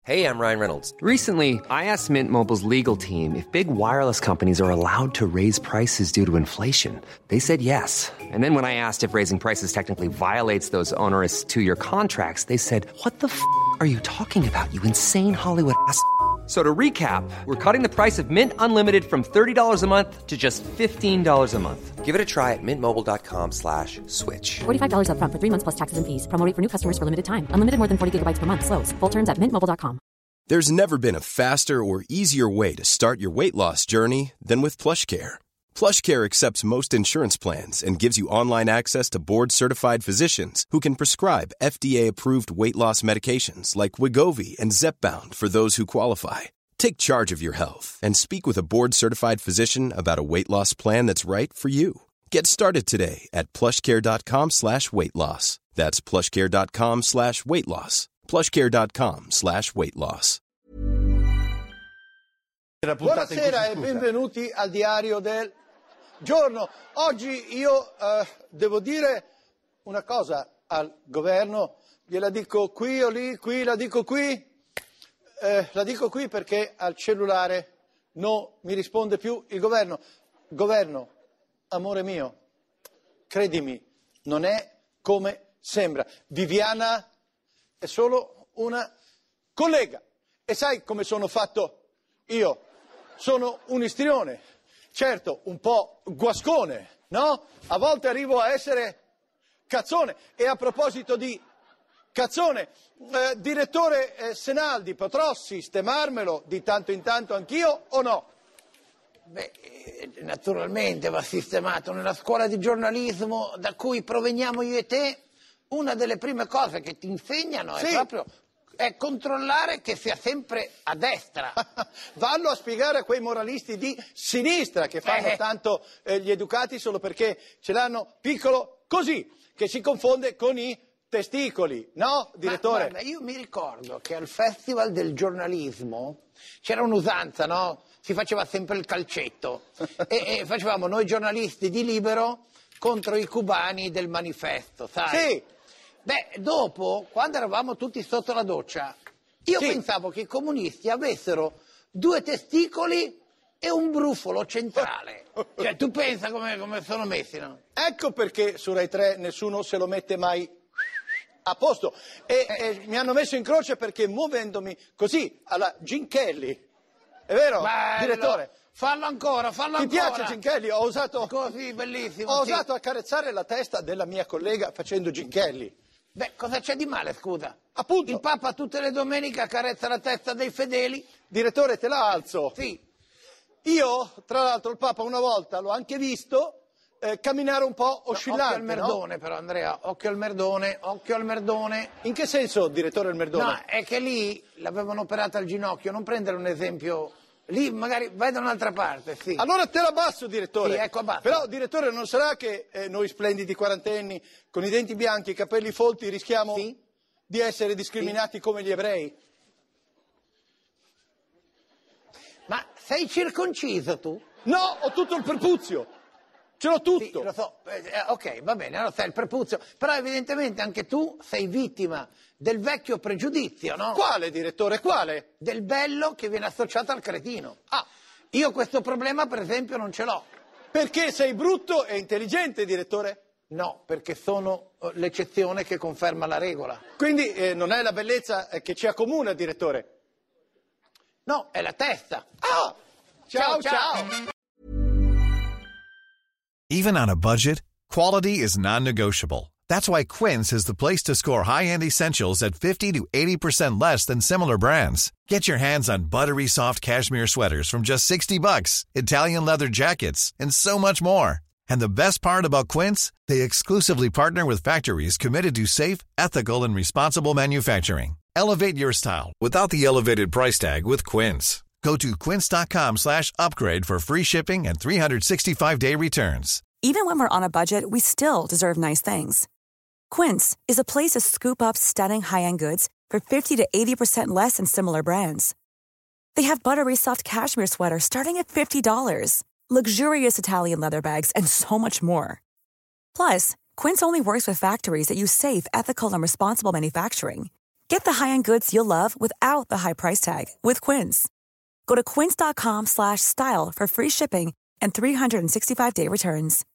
Hey, I'm Ryan Reynolds. Recently, I asked Mint Mobile's legal team if big wireless companies are allowed to raise prices due to inflation. They said yes. And then when I asked if raising prices technically violates those onerous two-year contracts, they said, "What the f*** are you talking about, you insane Hollywood ass?" So to recap, we're cutting the price of Mint Unlimited from $30 a month to just $15 a month. Give it a try at mintmobile.com/switch. $45 up front for 3 months plus taxes and fees. Promo rate for new customers for limited time. Unlimited more than 40 gigabytes per month. Slows full terms at mintmobile.com. There's never been a faster or easier way to start your weight loss journey than with PlushCare. PlushCare accepts most insurance plans and gives you online access to board-certified physicians who can prescribe FDA-approved weight loss medications like Wegovy and Zepbound for those who qualify. Take charge of your health and speak with a board-certified physician about a weight loss plan that's right for you. Get started today at plushcare.com/weight loss. That's plushcare.com/weight loss. plushcare.com/weight loss. Buonasera e benvenuti al diario del giorno. Oggi io devo dire una cosa al governo, gliela dico qui o lì, qui la dico qui. La dico qui perché al cellulare non mi risponde più il governo. Governo, amore mio, credimi, non è come sembra. Viviana è solo una collega. E sai come sono fatto io? Sono un istrione, certo un po' guascone, no? A volte arrivo a essere cazzone. E a proposito di cazzone, direttore Senaldi, potrò sistemarmelo di tanto in tanto anch'io o no? Beh, naturalmente va sistemato. Nella scuola di giornalismo da cui proveniamo io e te, una delle prime cose che ti insegnano Sì. è proprio controllare che sia sempre a destra. Vallo a spiegare a quei moralisti di sinistra che fanno tanto gli educati solo perché ce l'hanno piccolo così, che si confonde con i testicoli, no, direttore? Ma guarda, io mi ricordo che al Festival del giornalismo c'era un'usanza, no? Si faceva sempre il calcetto e facevamo noi giornalisti di Libero contro i cubani del Manifesto, sai? Sì. Beh, dopo, quando eravamo tutti sotto la doccia, io Sì. pensavo che i comunisti avessero 2 testicoli e un brufolo centrale. Cioè, tu pensa come sono messi, no? Ecco perché su Rai 3 nessuno se lo mette mai a posto. E mi hanno messo in croce perché muovendomi così, alla Gene Kelly. È vero, Bello. direttore? Fallo ancora. Ti piace Gene Kelly? Ho osato Così, bellissimo. Ho sì. osato accarezzare la testa della mia collega facendo Gene Kelly. Beh, cosa c'è di male, scusa? Appunto. Il Papa tutte le domeniche accarezza la testa dei fedeli. Direttore, te la alzo. Sì. Io, tra l'altro, il Papa una volta l'ho anche visto camminare un po' oscillante, Occhio al merdone, però, Andrea. Occhio al merdone. In che senso, direttore, il merdone? No, è che lì l'avevano operata al ginocchio. Non prendere un esempio. Lì magari vai da un'altra parte, sì. Allora te la abbasso, direttore. Sì, ecco, abbassa. Però, direttore, non sarà che noi splendidi quarantenni, con i denti bianchi e i capelli folti, rischiamo Sì. di essere discriminati come gli ebrei? Ma sei circonciso tu? No, ho tutto il prepuzio. Ce l'ho tutto. Sì, lo so. Ok, va bene, allora sei il prepuzio. Però evidentemente anche tu sei vittima del vecchio pregiudizio, no? Quale, direttore, quale? Del bello che viene associato al cretino. Ah, Io questo problema, per esempio, non ce l'ho. perché sei brutto e intelligente, direttore? No, perché sono l'eccezione che conferma la regola. Quindi non è la bellezza che ci accomuna, direttore. No, è la testa. Ah! Ciao, ciao. Even on a budget, quality is non-negotiable. That's why Quince is the place to score high-end essentials at 50 to 80% less than similar brands. Get your hands on buttery soft cashmere sweaters from just $60, Italian leather jackets, and so much more. And the best part about Quince, they exclusively partner with factories committed to safe, ethical, and responsible manufacturing. Elevate your style without the elevated price tag with Quince. Go to quince.com/upgrade for free shipping and 365-day returns. Even when we're on a budget, we still deserve nice things. Quince is a place to scoop up stunning high-end goods for 50 to 80% less than similar brands. They have buttery soft cashmere sweaters starting at $50, luxurious Italian leather bags, and so much more. Plus, Quince only works with factories that use safe, ethical, and responsible manufacturing. Get the high-end goods you'll love without the high price tag with Quince. Go to quince.com/style for free shipping and 365-day returns.